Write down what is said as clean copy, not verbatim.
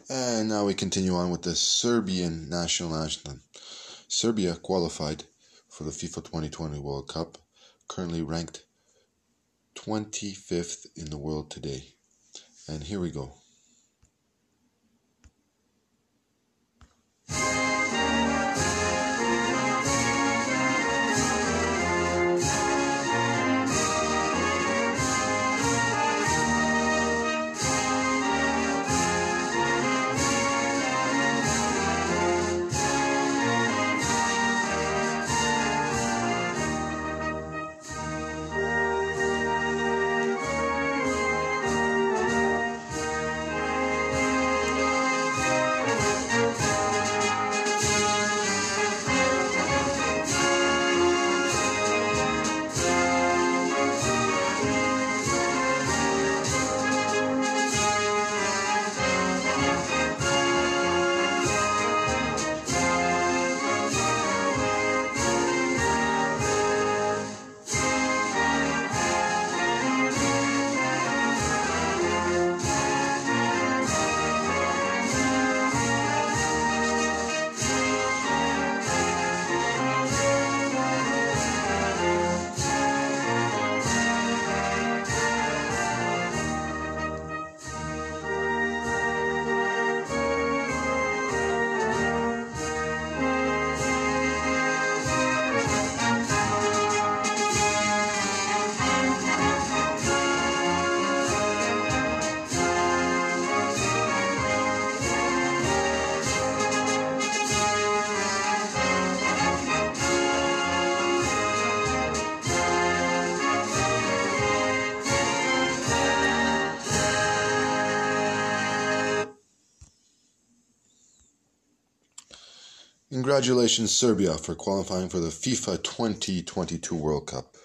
And now we continue on with the Serbian national anthem. Serbia qualified for the FIFA 2020 World Cup, currently ranked 25th in the world today. And here we go. Congratulations, Serbia, for qualifying for the FIFA 2022 World Cup.